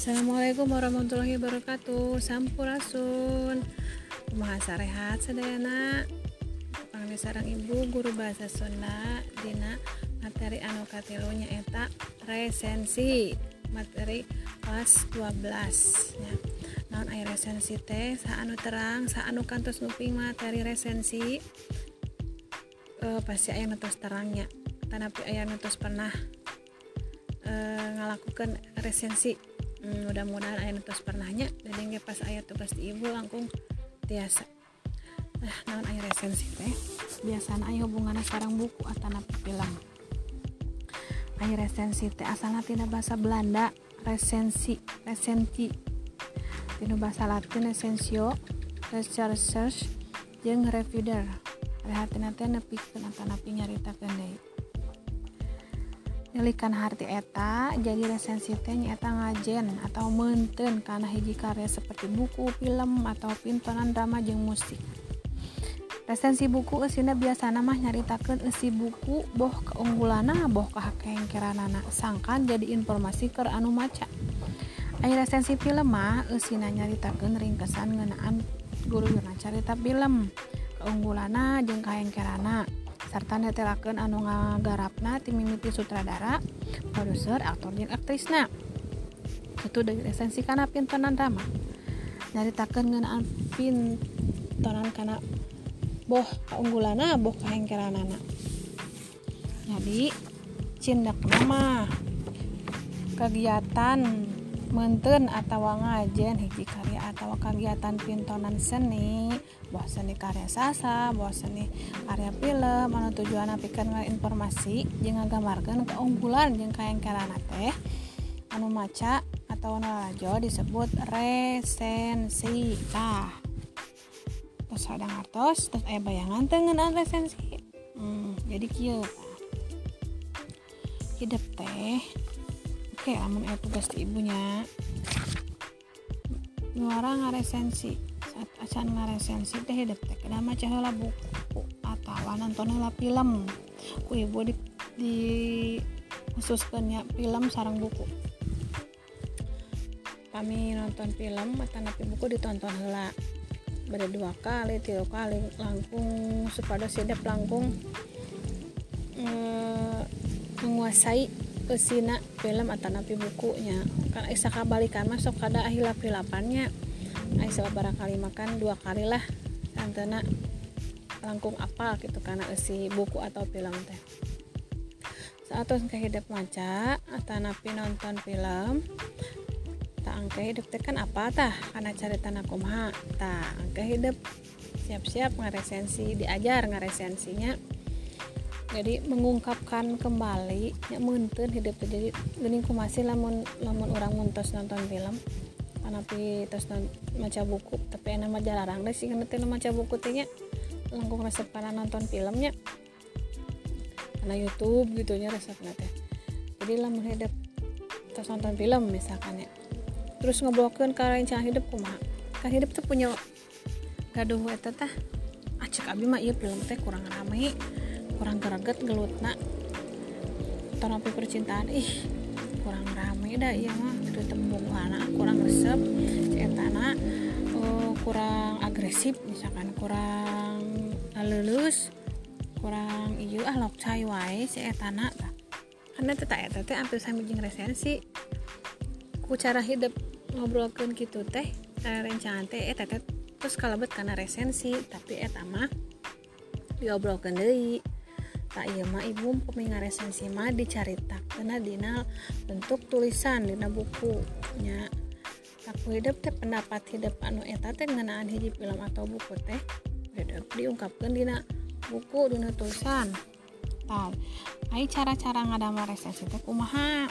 Assalamualaikum warahmatullahi wabarakatuh. Sampurasun. Kumaha sarehat sadayana. Pangli sareng ibu guru bahasa Sunda dina materi anu katilu nyaeta resensi. Materi kelas 12 nya. Naon aya resensi teh? Saanu terang, saanu kantos nguping materi resensi. Pasti aya nu tos terangnya. Tanapi aya nu tos pernah ngalakukan resensi. Mudah-mudahan aya tos pernahnya dan ge pas aya tugas di ibu langkung tiasa. Naon aya resensi teh? Biasana aya hubunganna sareng buku atanapi film. Aya resensi teh asalna tina basa Belanda, resensenti. Tina basa Latin essentio, research jeung reviewer. Rehatina teh nepikeun atanapi nyaritakeun deui. Nyelikan harti eta jadi resensi teh nyaeta ngajen atau meunteun kana hiji karya seperti buku, film, atau pintonan drama jeung musik. Resensi buku eusina biasana mah nyaritakeun isi buku, boh keunggulanna, boh kahengkeranana, sangkan jadi informasi keur anu maca. Aya resensi film mah eusina nyaritakeun ringkesan ngeunaan guru-guruna carita film, keunggulanna jeung kahengkeranna. Serta netelakeun anu ngagarapna ti mimiti sutradara, produser, aktor jeung aktrisna. Kitu deui resensi kana pintonan drama. Nyaritakeun ngeunaan pintonan kana boh kaunggulanna, boh kahengkeranana. Jadi cindekna mah kegiatan meunteun atawa ngajen hiji karya atawa kegiatan pintonan seni, boh seni karya sasa, boh seni karya film anu tujuanna pikeun informasi jeung ngagambarkeun keunggulan jeung kahengkeranna teh anu maca atau anu lalajo disebut resensi. Tos ada ngartos, tos aya bayangan teh ngeunaan resensi. Jadi kieu hidup teh oke, amun aya tugas di ibunya nuara ngaresensi. Saat acan ngaresensi teh hidup teh kada maca heula buku atawa nonton heula film. Ku ibu di khususkeun nya film sareng buku. Kami nonton film atanapi buku ditonton heula. Bade 2 kali, 3 kali langkung supados hidup langkung menguasai eusina film atanapi bukunya. Kan isa kabalikan mah sok kada hilap-hilapannya. Ai sabaraha kali makan 2 kali lah santena langkung apal gitu kana eusi buku atau film teh. Saatoss ke hidup maca atanapi nonton film tak angke hidup teh kan apa tah kana caritana kumaha. Tah angke hidup siap-siap ngaresensi, diajar ngaresensinya. Jadi mengungkapkan kembali nya meunteun hidup teh. Jadi geuning kumasih lamun urang muntos nonton film anapi tos maca buku tapi ena mah jarang deh sih kana teh maca buku teh nya langkung resep kana nonton filmnya kana YouTube gitu nya resepna teh. Jadi lamun hidup tos nonton film misalkan ya terus ngobrolkeun ka rencana hidup kumaha. Kan hidup teh punya gaduh eta tah cek abi mah ieu film teh kurang rame, kurang greget gelutna tanapi percintaan kurang rame dah ieu mah teu tembungana kurang resep ceetana kurang agresif misalkan kurang leuleus kurang ieu lokcai wae ceetana tah kana teh eta teh hampir sami jeung resensi ku cara hidup ngobrolkeun kitu teh rencana teh eta teh terus kalebet kana resensi tapi eta mah diobrolkeun deui. Tak ieu mah ibu pemi ngaresensi mah dicaritakeun dina bentuk tulisan dina buku nya. Aku hidup teh pendapat hidup anu eta teh ngeunaan hiji film atau buku teh hidup diungkapkeun dina buku dina tulisan. Tah, ai cara-cara ngadamel resensi teh kumaha?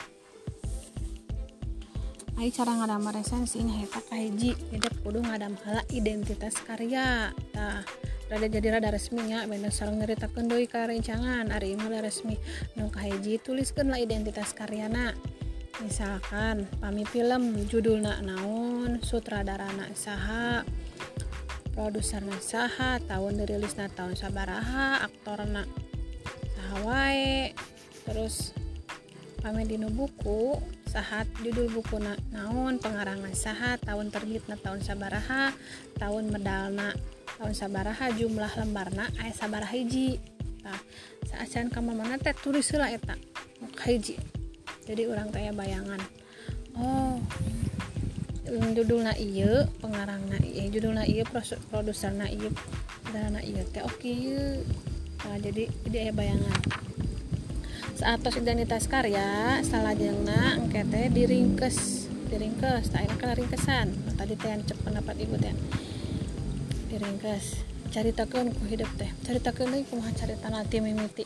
Ai cara ngadamel resensi nyaeta kahiji hidup kudu ngadam heula identitas karya. Tah rada resminya bener sareng nyaritakeun deui karencangan ari ieu resmi nu kahiji tuliskeun lah identitas karyana. Misalkan pami film judulna naon, sutradarana saha, produserna saha, tahun dirilisna tahun sabaraha, aktorna saha wae. Terus pami dina buku sahat judul bukuna naon pengarangna saha tahun terbitna tahun sabaraha tahun medalna tahun sabaraha jumlah lembarna aya sabaraha hiji. Tah saacan ka mamana teh tulis heula eta hiji. Jadi urang teh aya bayangan. Oh judulna ieu pengarangna ieu judulna ieu produserna ieu dana ieu teh oke ieu. Nah, jadi aya bayangan. Saatos identitas karya salajengna engke teh diringkes tah ayeuna kana ringkesan. Tadi teh cek pendapat ibu teh diringkes caritakeun ku hidup teh caritakeun deui kumaha caritana ti mimiti.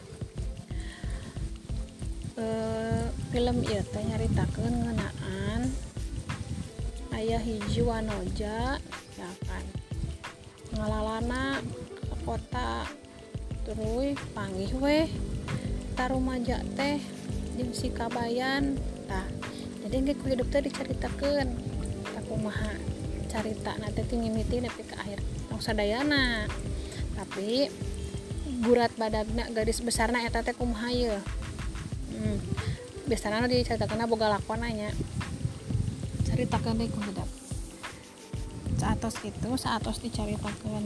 Film ieu teh nyaritakeun ngeunaan aya hiji wanoja ya kan ngalalana ka kota terus panggih we tarumaja teh jeung si kabayan. Tah jadi engke ku hidup teh dicaritakeun tah kumaha caritana teh ti mimiti nepi ka akhir tong sadayana. Tapi gurat badagna garis besarna eta teh kumaha ieu. Biasana dicaritakeunna boga lakonna nya. Caritakeun deui ku hidup. Saatos dicaritakeun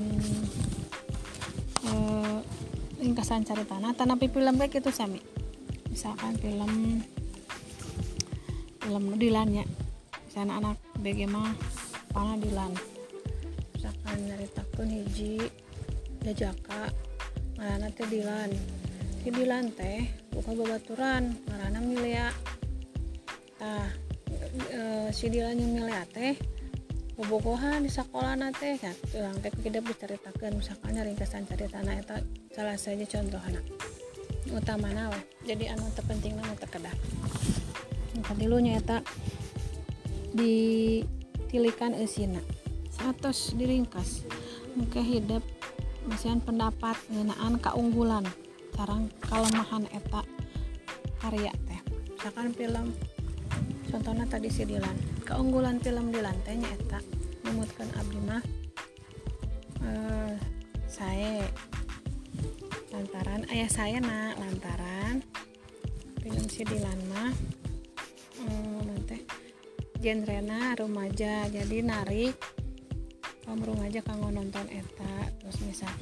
ringkasan caritana tanapi film kayak gitu sami. Misalkan film nu Dilan nya. Misalna anak BG mah pana Dilan. Misalkan nyaritakeun hiji jajaka ngaranna teh Dilan. Si Dilan teh buka babaturan ngaranna Milea. Tah si Dilan jeung Milea teh bobogohan di sakolana teh kan urang teh kudu dicaritakeun misalkan ringkasan caritana eta salah saja contohna utamana we. Jadi anu terpentingna mah teu kedah kadilu nya eta ditilikan eusina saatos diringkas engke hidup masihan pendapat ngeunaan kaunggulan sareng kalemahan eta karya teh. Misalkan film contohna tadi si Dilan, keunggulan film Dilan teh nya eta numutkeun abdi mah sae lantaran aya saena lantaran film si Dilan mah teh genrena remaja jadi narik kaum remaja kanggo nonton eta. Terus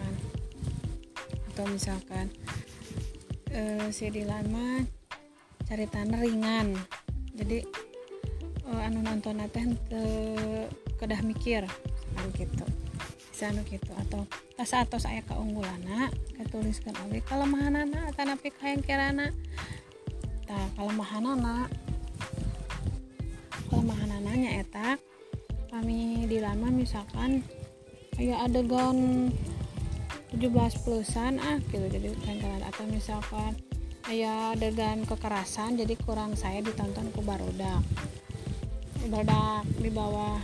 misalkan si Dilan mah caritana ringan jadi anu nonton teh teu kedah mikir kan gitu bisa anu gitu atau saatos aya kaunggulanna katuliskeun oge kalemahanana tanapi kahengkerana. Tah kalemahanana nyaeta kami Dilan mah misalkan aya adegan 17 plusan gitu jadi kahengkeran atau misalkan aya adegan kekerasan jadi kurang saya ditonton ku barudak di bawah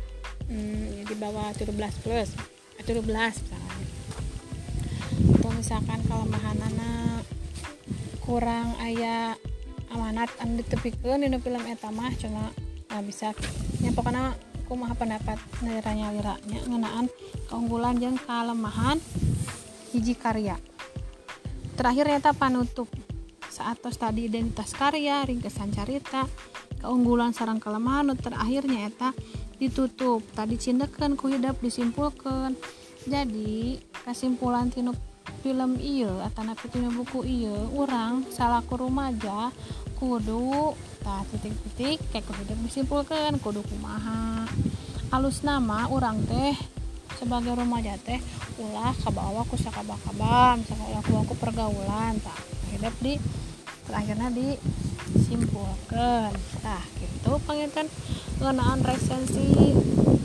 17 plus 17 misalkan. Atau misalkan kalemahanana kurang aya amanat anu ditepikeun dina film eta mah cuma bisa nya pokona kumaha pendapat nyalira-nyalira nya ngeunaan keunggulan jeung kalemahan hiji karya. Terakhir eta panutup saatos tadi identitas karya ringkesan carita keunggulan sareng kelemahan terakhirnya eta ditutup tadi cindekeun ku hidup disimpulkeun. Jadi kesimpulan tinu film ieu atanapi tinu buku ieu urang salaku rumaja kudu titik-titik kayak ku hidup disimpulkeun kudu kumaha alusna mah urang teh sebagai remaja teh ulah kabawa ku sakaba-kaba misalkan ulah ku pergaulan tah hidup di akhirnya disimpulkan. Tah gitu panginten ngeunaan resensi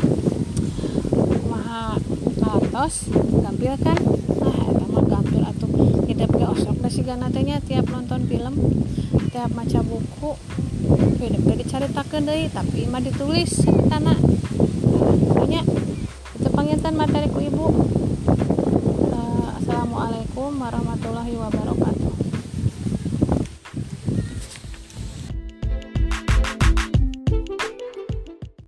kumaha katos gampil kan. Nah eta mah gampil atuh hidup ge osok da sigana teh nya tiap nonton film tiap maca buku hidup ge dicaritakeun deui tapi mah ditulis caritana. Nya itu panginten materi ku ibu. Assalamualaikum warahmatullahi wabarakatuh.